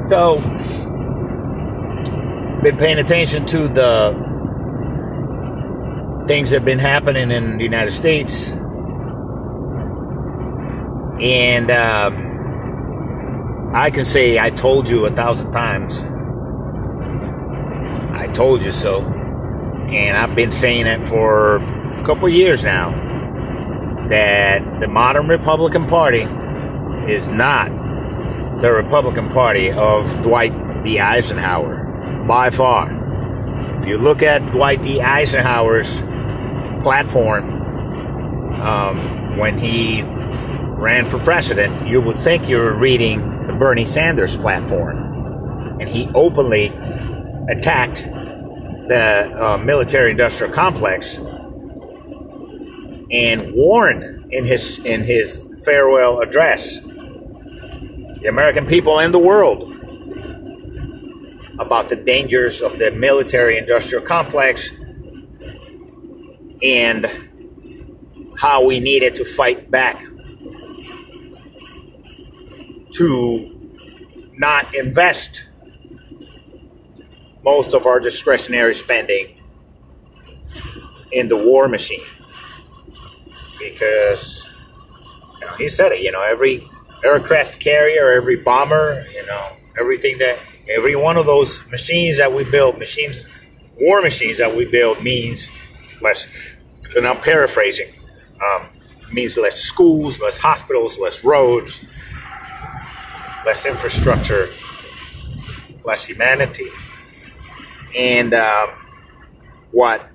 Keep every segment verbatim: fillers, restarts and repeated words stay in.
So, been paying attention to the things that have been happening in the United States. And um, I can say I told you a thousand times. I told you so. And I've been saying it for a couple of years now. That the modern Republican Party is not the Republican Party of Dwight D. Eisenhower. By far. If you look at Dwight D. Eisenhower's platform um, when he ran for president, you would think you were reading the Bernie Sanders platform. And he openly attacked the uh, military-industrial complex and warned in his in his farewell address the American people and the world about the dangers of the military-industrial complex and how we needed to fight back to not invest most of our discretionary spending in the war machine. Because, you know, he said it, you know, every aircraft carrier, every bomber, you know, everything that, every one of those machines that we build, machines, war machines that we build means less, and I'm paraphrasing, um, means less schools, less hospitals, less roads, less infrastructure, less humanity. And um, what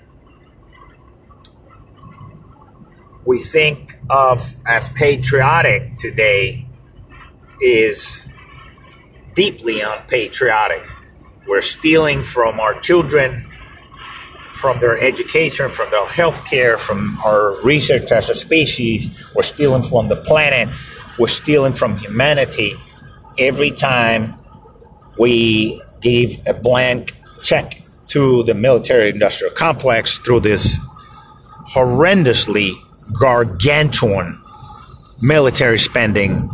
we think of as patriotic today is deeply unpatriotic. We're stealing from our children, from their education, from their health care, from our research as a species. We're stealing from the planet. We're stealing from humanity every time we give a blank check to the military-industrial complex through this horrendously gargantuan military spending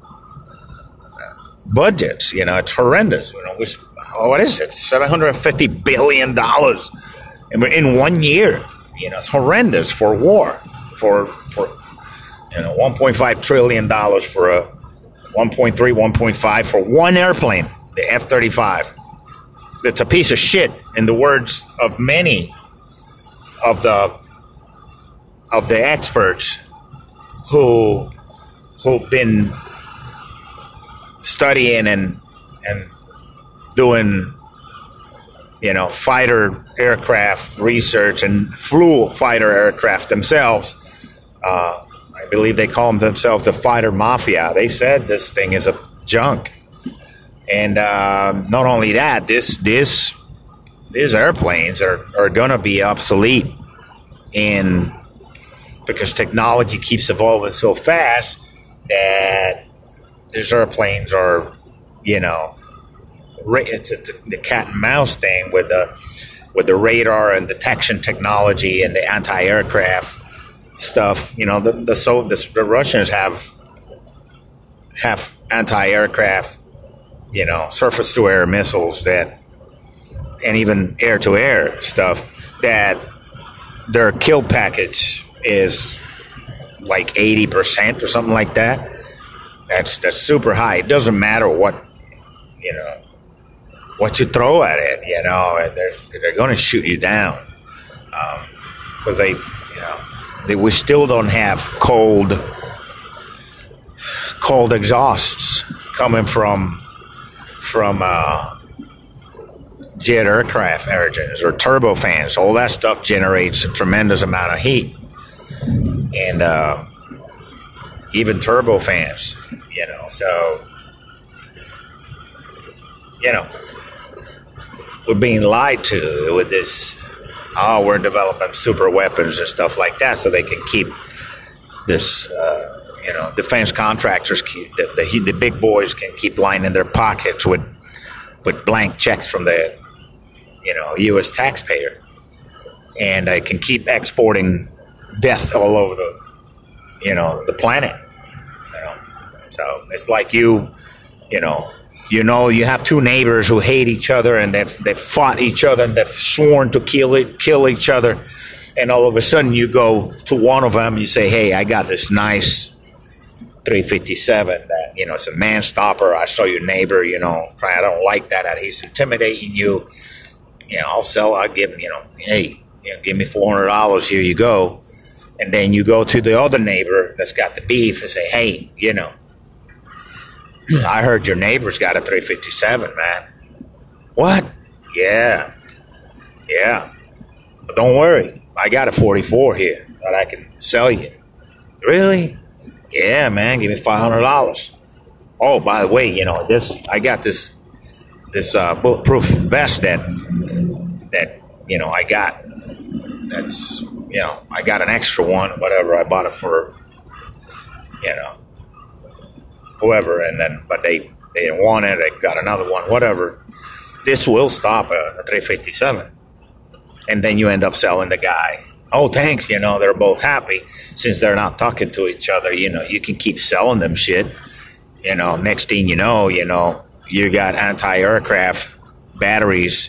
budgets. You know, it's horrendous. You know, it's, what is it? seven hundred fifty billion dollars in, in one year. You know, it's horrendous for war. For for you know, one point five trillion dollars for a one point three, one point five for one airplane, the F thirty-five. It's a piece of shit, in the words of many of the of the experts who who've been studying and and doing, you know, fighter aircraft research and flew fighter aircraft themselves. Uh, I believe they call them themselves the fighter mafia. They said this thing is a junk. And uh, not only that, this this these airplanes are, are going to be obsolete in because technology keeps evolving so fast that these airplanes are, you know, it's, it's the cat and mouse thing with the with the radar and detection technology and the anti-aircraft stuff. You know, the the so the, the Russians have have anti-aircraft, you know, surface-to-air missiles that, and even air-to-air stuff, that their kill package is like eighty percent or something like that. That's that's super high. It doesn't matter what, you know, what you throw at it, you know, they're, they're going to shoot you down. Because um, they, you know, they, we still don't have cold, cold exhausts coming from from uh, jet aircraft engines or turbofans. All that stuff generates a tremendous amount of heat. And uh, even turbofans, you know, so, you know, we're being lied to with this, oh, we're developing super weapons and stuff like that so they can keep this, uh, you know, defense contractors, keep, the, the the big boys can keep lining their pockets with with blank checks from the, you know, U S taxpayer. And they can keep exporting death all over the, you know, the planet. You know? So it's like you, you know, You know, you have two neighbors who hate each other, and they've they've fought each other, and they've sworn to kill it, kill each other, and all of a sudden you go to one of them, you say, "Hey, I got this nice three fifty-seven that, you know, it's a man stopper. I saw your neighbor, you know, try. I don't like that. That he's intimidating you. You know, I'll sell. I'll give him, you know, hey, you know, give me four hundred dollars. Here you go." And then you go to the other neighbor that's got the beef and say, "Hey, you know, I heard your neighbor's got a three fifty-seven, man." "What?" "Yeah, yeah. But don't worry, I got a forty-four here that I can sell you." "Really?" "Yeah, man. Give me five hundred dollars. Oh, by the way, you know this. I got this this uh, bulletproof vest that that you know I got. That's you know I got an extra one, whatever. I bought it for you know." whoever, and then but they, they didn't want it, they got another one, whatever. This will stop a, a three fifty-seven. And then you end up selling the guy. "Oh, thanks," you know, they're both happy. Since they're not talking to each other, you know, you can keep selling them shit. You know, next thing you know, you know, you got anti-aircraft batteries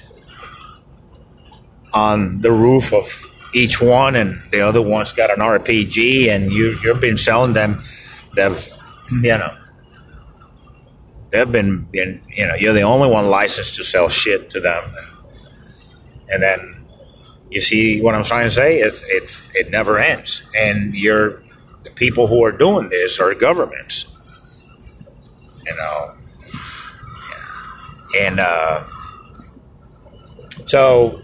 on the roof of each one, and the other one's got an R P G, and you, you've been selling them. They've, you know, They've been, in, you know, you're the only one licensed to sell shit to them, and, and then you see what I'm trying to say. It's it's it never ends, and you're the people who are doing this are governments, you know, and uh, so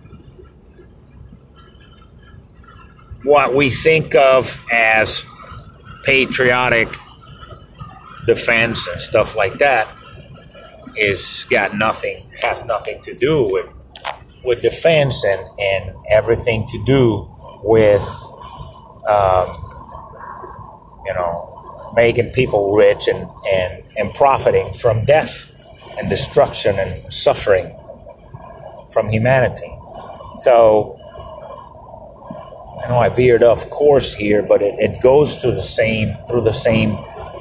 what we think of as patriotic defense and stuff like that is got nothing has nothing to do with with defense and and everything to do with um, you know making people rich and and and profiting from death and destruction and suffering from humanity. So I know I veered off course here, but it, it goes to the same through the same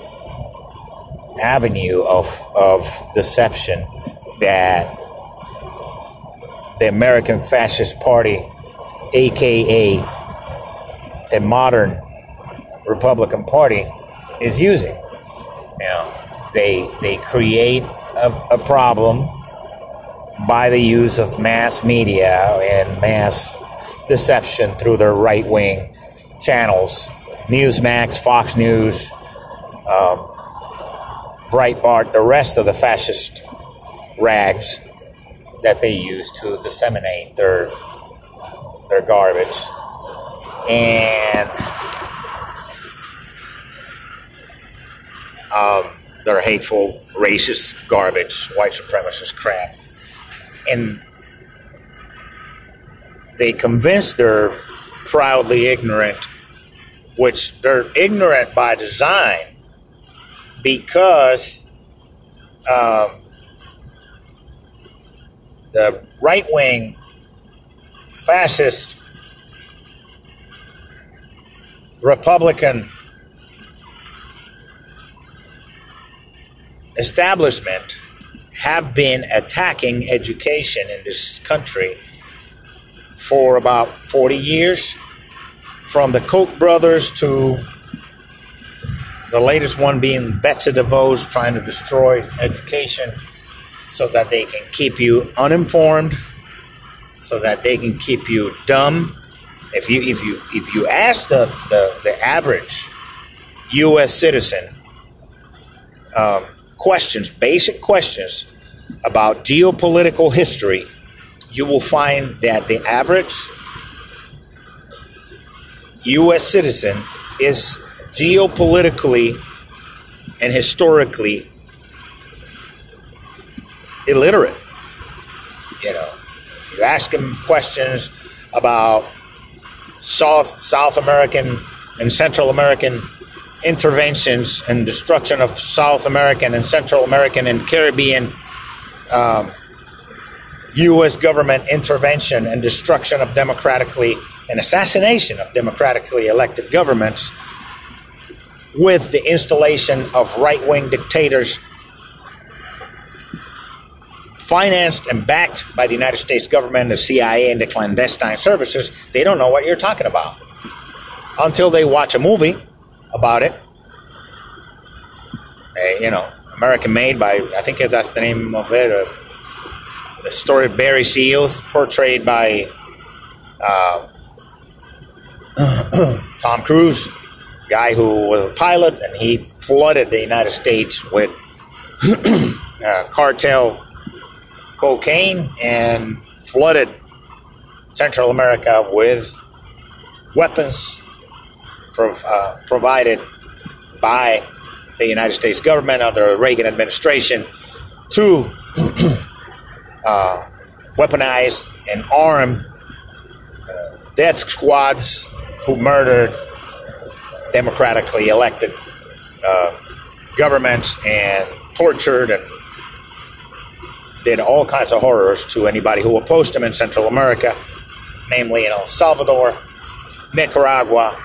avenue of of deception that the American Fascist Party, aka the modern Republican Party, is using. You know, they they create a, a problem by the use of mass media and mass deception through their right-wing channels, Newsmax, Fox News, um, Breitbart, the rest of the fascist rags that they use to disseminate their their garbage. And um, their hateful, racist garbage, white supremacist crap. And they convince they're proudly ignorant, which they're ignorant by design, because um, the right-wing fascist Republican establishment have been attacking education in this country for about forty years, from the Koch brothers to the latest one being Betsy DeVos, trying to destroy education so that they can keep you uninformed, so that they can keep you dumb. If you if you if you ask the the, the average U S citizen um, questions, basic questions about geopolitical history, you will find that the average U S citizen is geopolitically and historically illiterate. You know, if you ask them questions about South South American and Central American interventions and destruction of South American and Central American and Caribbean um, U S government intervention and destruction of democratically and assassination of democratically elected governments, with the installation of right-wing dictators financed and backed by the United States government, the C I A, and the clandestine services, they don't know what you're talking about until they watch a movie about it. Uh, you know, American Made by, I think that's the name of it. Uh, the story of Barry Seals, portrayed by uh, Tom Cruise, guy who was a pilot, and he flooded the United States with uh, cartel cocaine and flooded Central America with weapons prov- uh, provided by the United States government under the Reagan administration to uh, weaponize and arm uh, death squads who murdered democratically elected uh, governments and tortured and did all kinds of horrors to anybody who opposed them in Central America, namely in El Salvador, Nicaragua,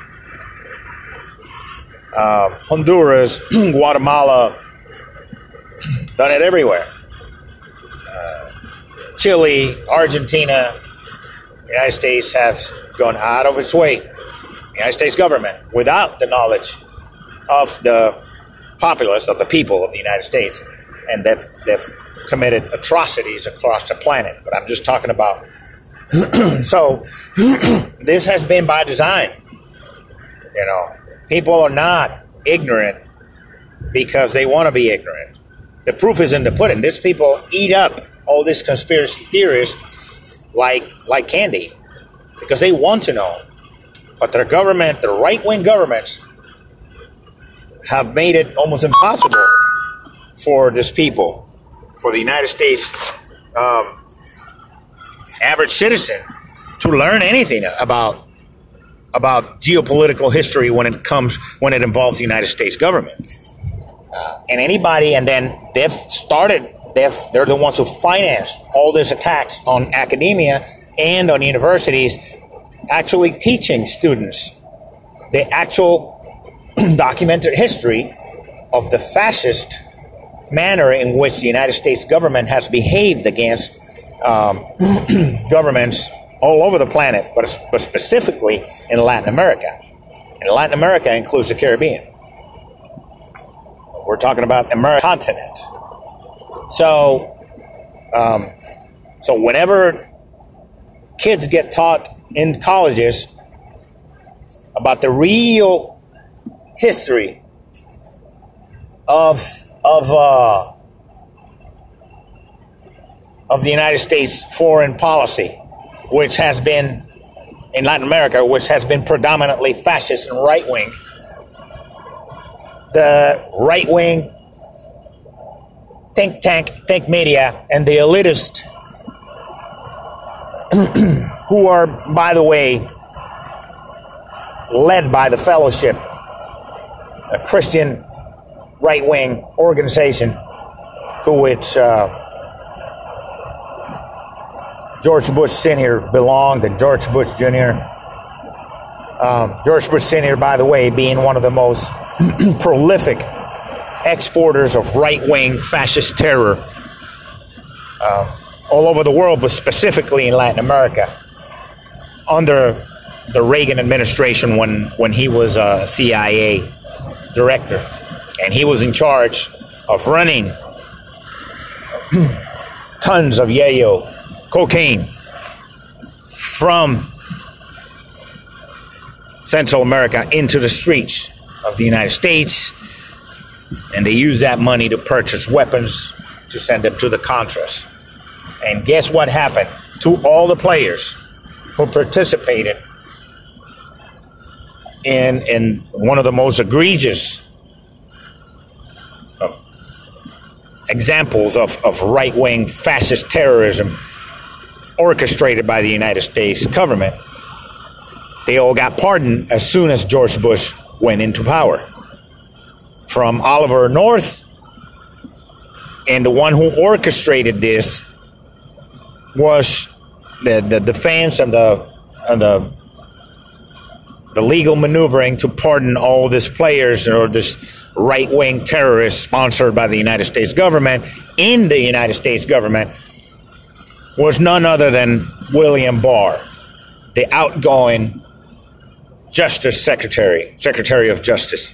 uh, Honduras, Guatemala, done it everywhere. Uh, Chile, Argentina, the United States has gone out of its way, the United States government, without the knowledge of the populace, of the people of the United States, and they've, they've committed atrocities across the planet. But I'm just talking about, so this has been by design. You know, people are not ignorant because they want to be ignorant. The proof is in the pudding. These people eat up all these conspiracy theories like like candy because they want to know. But their government, the right-wing governments, have made it almost impossible for these people, for the United States um, average citizen, to learn anything about about geopolitical history when it comes when it involves the United States government. Uh, and anybody, and then they've started. They've, they're the ones who financed all these attacks on academia and on universities, actually teaching students the actual documented history of the fascist manner in which the United States government has behaved against um, governments all over the planet, but, but specifically in Latin America. And Latin America includes the Caribbean. We're talking about the American continent. So, um, so whenever kids get taught in colleges about the real history of of uh, of the United States foreign policy, which has been in Latin America, which has been predominantly fascist and right wing, the right wing think tank, think media, and the elitist, who are, by the way, led by the Fellowship, a Christian right-wing organization to which uh, George Bush Senior belonged, and George Bush Junior Um, George Bush Senior, by the way, being one of the most prolific exporters of right-wing fascist terror uh, all over the world, but specifically in Latin America, under the Reagan administration when, when he was a C I A director. And he was in charge of running tons of yayo, cocaine, from Central America into the streets of the United States. And they used that money to purchase weapons to send them to the Contras. And guess what happened to all the players who participated in, in one of the most egregious uh, examples of, of right-wing fascist terrorism orchestrated by the United States government? They all got pardoned as soon as George Bush went into power. From Oliver North, and the one who orchestrated this was the, the defense and the and the the legal maneuvering to pardon all these players or this right-wing terrorists sponsored by the United States government in the United States government was none other than William Barr, the outgoing Justice Secretary, Secretary of Justice,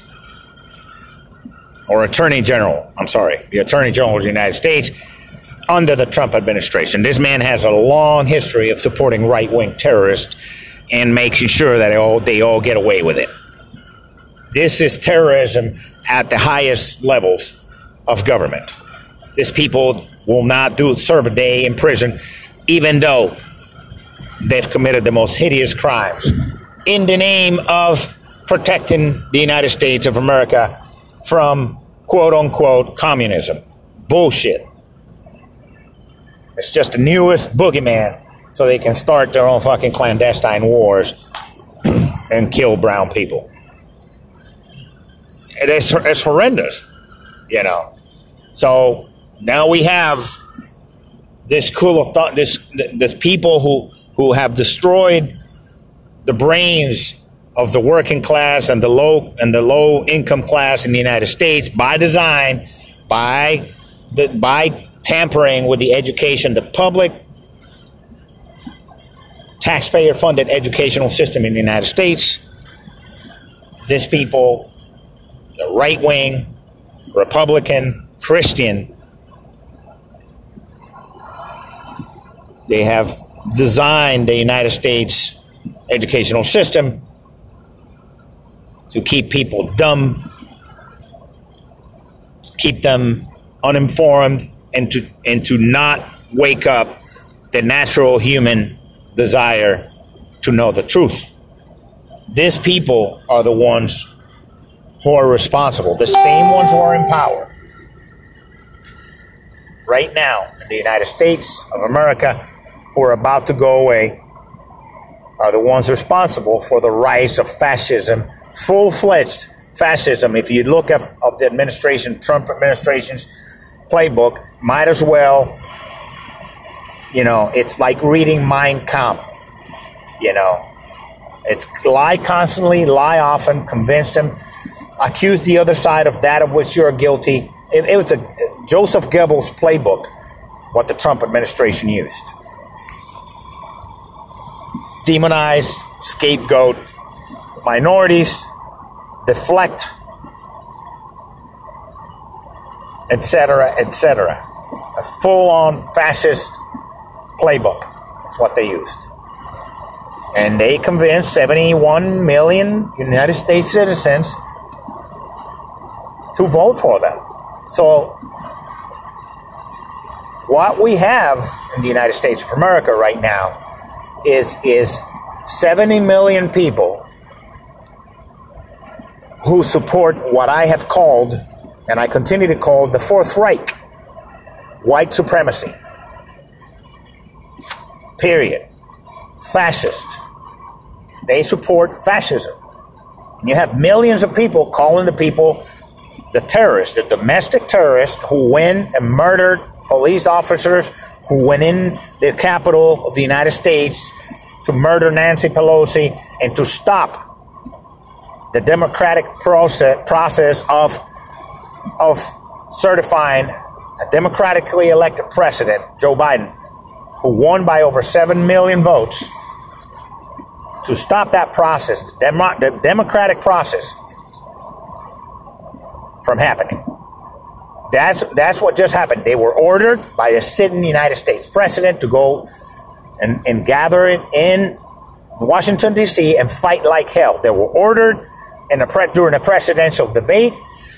or Attorney General, I'm sorry, the Attorney General of the United States under the Trump administration. This man has a long history of supporting right-wing terrorists and making sure that they all, they all get away with it. This is terrorism at the highest levels of government. These people will not do serve a day in prison, even though they've committed the most hideous crimes in the name of protecting the United States of America from quote-unquote communism. Bullshit. It's just the newest boogeyman so they can start their own fucking clandestine wars and kill brown people. It is, it's horrendous, you know. So now we have this cool of thought, this this people who who have destroyed the brains of the working class and the low and the low income class in the United States by design, by the by tampering with the education, the public taxpayer funded educational system in the United States. These people, the right wing, Republican, Christian, they have designed the United States educational system to keep people dumb, to keep them uninformed, and to and to not wake up the natural human desire to know the truth. These people are the ones who are responsible, the same ones who are in power right now in the United States of America, who are about to go away, are the ones responsible for the rise of fascism, full-fledged fascism. If you look at of the administration, Trump administration's playbook, might as well, you know, it's like reading Mein Kampf, you know. It's lie constantly, lie often, convince them, accuse the other side of that of which you're guilty. It, it was a Joseph Goebbels playbook, what the Trump administration used. Demonize, scapegoat minorities, deflect, et cetera, et cetera. A full-on fascist playbook is what they used. And they convinced seventy-one million United States citizens to vote for them. So what we have in the United States of America right now is, is seventy million people who support what I have called, and I continue to call, the Fourth Reich, white supremacy. Period. Fascist. They support fascism. And you have millions of people calling the people the terrorists, the domestic terrorists who went and murdered police officers, who went in the capital of the United States to murder Nancy Pelosi and to stop the democratic process, process of, of certifying a democratically elected president, Joe Biden, who won by over seven million votes, to stop that process, the, demo, the democratic process, from happening. That's that's what just happened. They were ordered by a sitting United States president to go and, and gather it in Washington, D C and fight like hell. They were ordered in a pre- during a presidential debate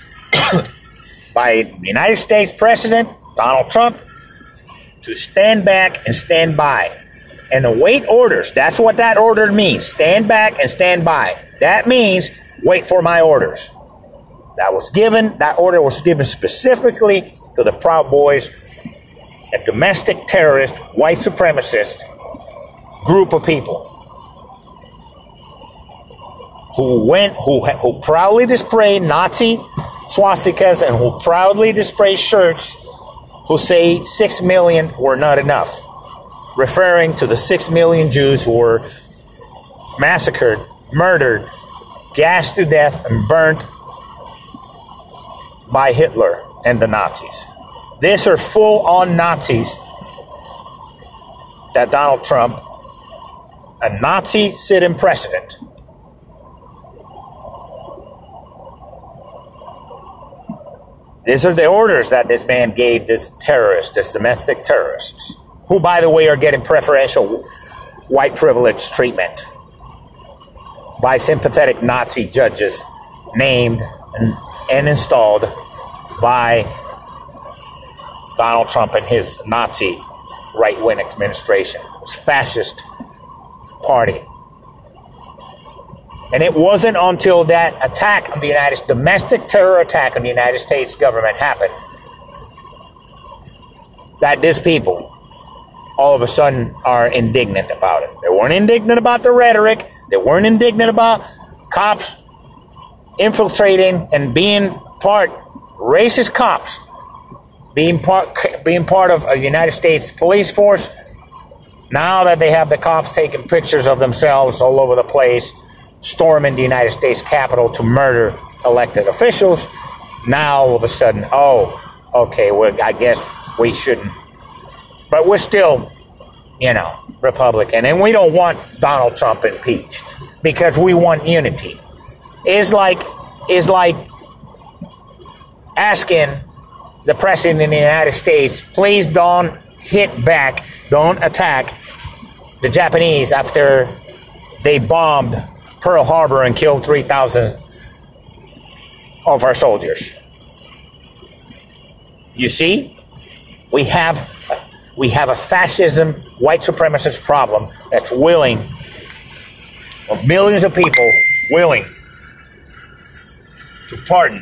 by the United States President, Donald Trump, to stand back and stand by and await orders. That's what that order means. Stand back and stand by. That means wait for my orders. That was given, that order was given specifically to the Proud Boys, a domestic terrorist, white supremacist group of people who went, who who proudly displayed Nazi swastikas and who proudly display shirts who say six million were not enough, referring to the six million Jews who were massacred, murdered, gassed to death, and burnt by Hitler and the Nazis. These are full-on Nazis that Donald Trump, a Nazi sitting president, these are the orders that this man gave this terrorist, this domestic terrorists, who, by the way, are getting preferential white privilege treatment by sympathetic Nazi judges named and, and installed by Donald Trump and his Nazi right-wing administration, his fascist party. And it wasn't until that attack on the United States, domestic terror attack on the United States government happened, that these people all of a sudden are indignant about it. They weren't indignant about the rhetoric. They weren't indignant about cops infiltrating and being part, racist cops, being part, being part of a United States police force. Now that they have the cops taking pictures of themselves all over the place, storming the United States Capitol to murder elected officials, now all of a sudden, oh, okay, well, I guess we shouldn't. But we're still, you know, Republican, and we don't want Donald Trump impeached because we want unity. It's like, it's like asking the president of the United States, please don't hit back, don't attack the Japanese after they bombed Pearl Harbor and killed three thousand of our soldiers. You see, we have we have a fascism, white supremacist problem that's willing, of millions of people willing to pardon,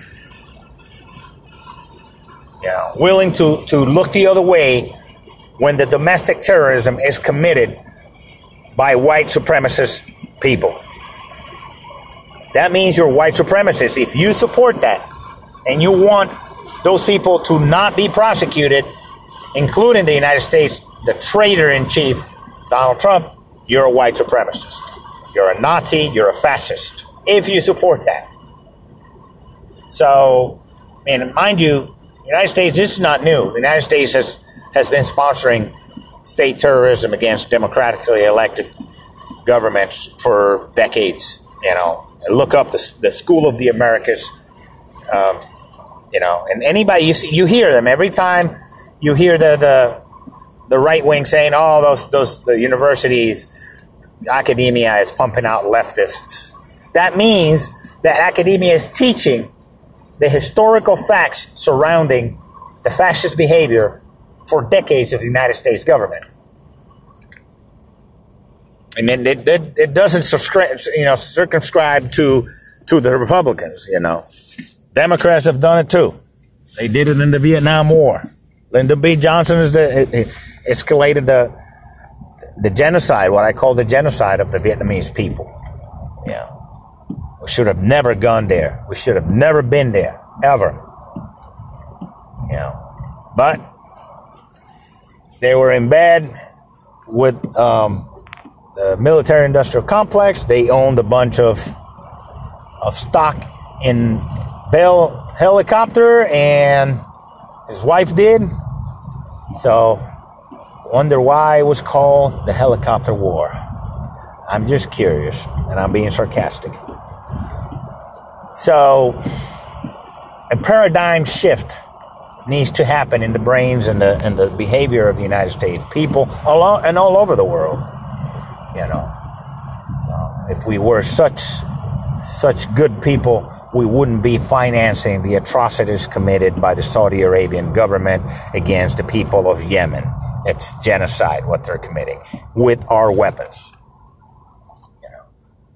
yeah, willing to, to look the other way when the domestic terrorism is committed by white supremacist people. That means you're white supremacist. If you support that and you want those people to not be prosecuted, including the United States, the traitor-in-chief, Donald Trump, you're a white supremacist. You're a Nazi, you're a fascist, if you support that. So, and mind you, the United States, this is not new. The United States has, has been sponsoring state terrorism against democratically elected governments for decades. You know, look up the, the School of the Americas, um, you know, and anybody, you see, you hear them every time. You hear the, the the right wing saying, "Oh, those those the universities, academia is pumping out leftists." That means that academia is teaching the historical facts surrounding the fascist behavior for decades of the United States government, and then it, it, it doesn't subscribe, you know, circumscribe to to the Republicans. You know, Democrats have done it too. They did it in the Vietnam War. Lyndon B. Johnson is the, it, it escalated the the genocide, what I call the genocide of the Vietnamese people. Yeah, we should have never gone there. We should have never been there, ever. You know, but they were in bed with um, the military-industrial complex. They owned a bunch of of stock in Bell Helicopter, and his wife did. So, wonder why it was called the Helicopter War. I'm just curious, and I'm being sarcastic. So, a paradigm shift needs to happen in the brains and the and the behavior of the United States people all and all over the world. You know, uh, if we were such such good people, we wouldn't be financing the atrocities committed by the Saudi Arabian government against the people of Yemen. It's genocide what they're committing with our weapons. You know.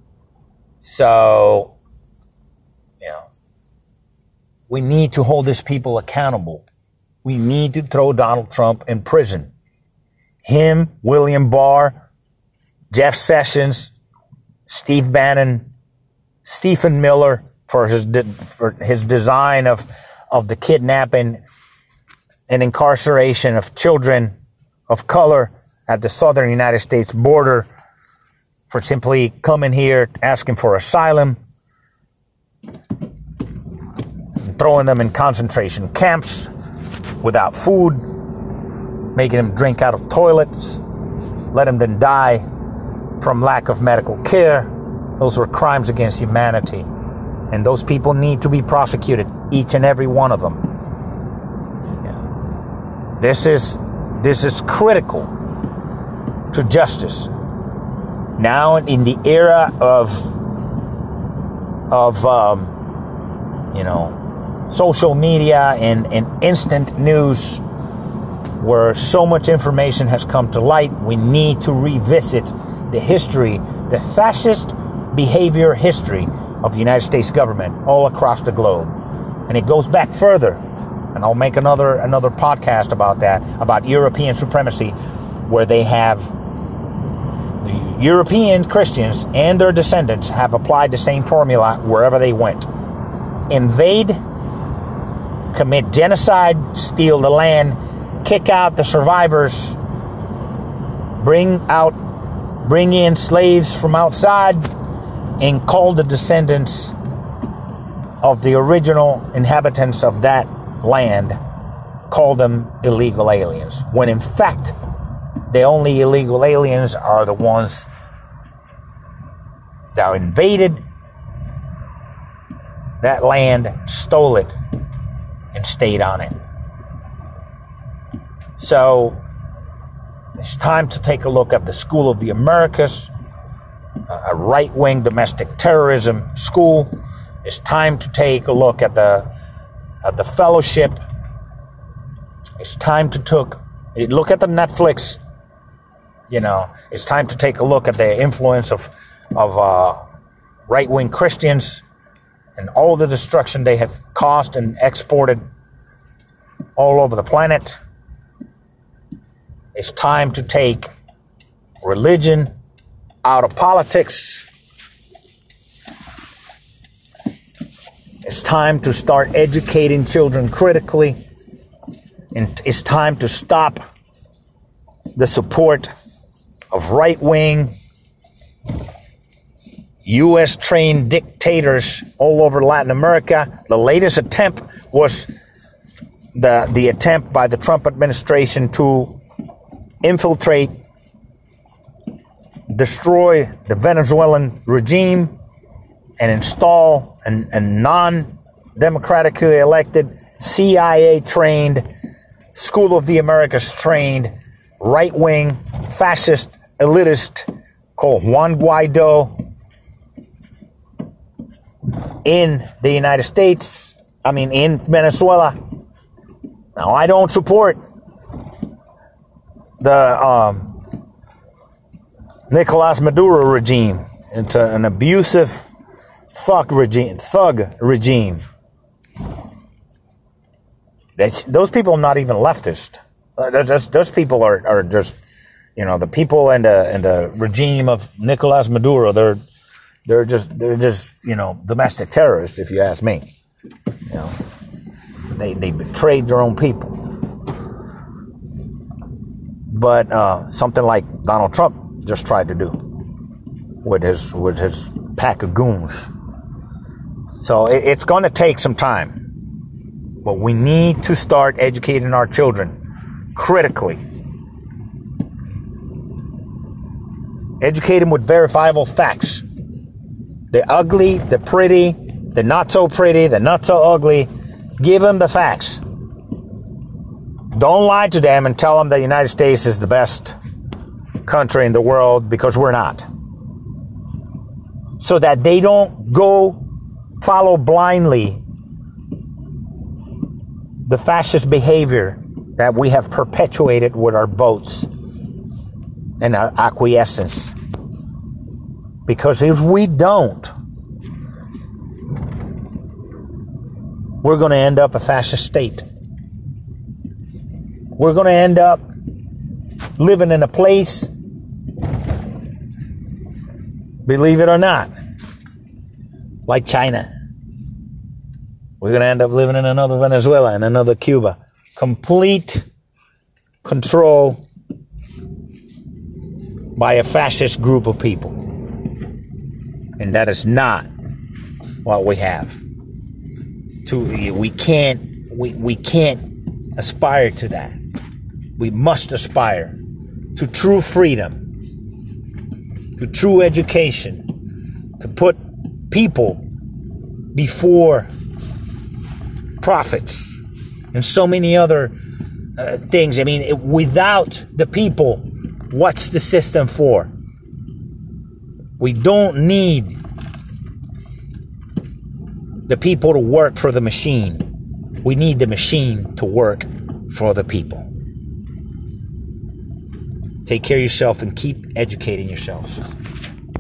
So, you know, we need to hold these people accountable. We need to throw Donald Trump in prison. Him, William Barr, Jeff Sessions, Steve Bannon, Stephen Miller, for his de- for his design of of the kidnapping and incarceration of children of color at the southern United States border, for simply coming here asking for asylum, and throwing them in concentration camps without food, making them drink out of toilets, let them then die from lack of medical care. Those were crimes against humanity. And those people need to be prosecuted, each and every one of them. Yeah. This is this is critical to justice. Now, in the era of of um, you know, social media and, and instant news, where so much information has come to light, we need to revisit the history, the fascist behavior history of the United States government all across the globe. And it goes back further. And I'll make another another podcast about that, about European supremacy, where they have the European Christians and their descendants have applied the same formula wherever they went. Invade, commit genocide, steal the land, kick out the survivors, bring out, bring in slaves from outside, and call the descendants of the original inhabitants of that land, call them illegal aliens. When in fact, the only illegal aliens are the ones that invaded that land, stole it, and stayed on it. So it's time to take a look at the School of the Americas, a right-wing domestic terrorism school. It's time to take a look at the at the Fellowship. It's time to took look at the Netflix. You know, it's time to take a look at the influence of of uh, right-wing Christians and all the destruction they have caused and exported all over the planet. It's time to take religion out of politics. It's time to start educating children critically. And it's time to stop the support of right-wing, U S trained dictators all over Latin America. The latest attempt was the, the attempt by the Trump administration to infiltrate, destroy the Venezuelan regime, and install a, a non-democratically elected, C I A-trained, School of the Americas-trained, right-wing, fascist, elitist called Juan Guaido in the United States, I mean in Venezuela. Now, I don't support the um, Nicolas Maduro regime. It's a, an abusive fuck regime, thug regime. That's, those people are not even leftist. Uh, those, those people are, are just, you know, the people and the and the regime of Nicolas Maduro. They're they're just they're just you know domestic terrorists, if you ask me. You know, they they betrayed their own people. But uh, something like Donald Trump just tried to do with his with his pack of goons. So it, it's going to take some time, but we need to start educating our children critically. Educate them with verifiable facts. The ugly, the pretty, the not so pretty, the not so ugly. Give them the facts. Don't lie to them and tell them the United States is the best country in the world, because we're not. So that they don't go follow blindly the fascist behavior that we have perpetuated with our votes and our acquiescence. Because if we don't, we're going to end up a fascist state. We're going to end up living in a place, believe it or not, like China. We're going to end up living in another Venezuela and another Cuba. Complete control by a fascist group of people. And that is not what we have. To, we can't we, we can't aspire to that. We must aspire to true freedom, to true education, to put people before profits and so many other uh, things. I mean, it, without the people, what's the system for? We don't need the people to work for the machine. We need the machine to work for the people. Take care of yourself and keep educating yourselves.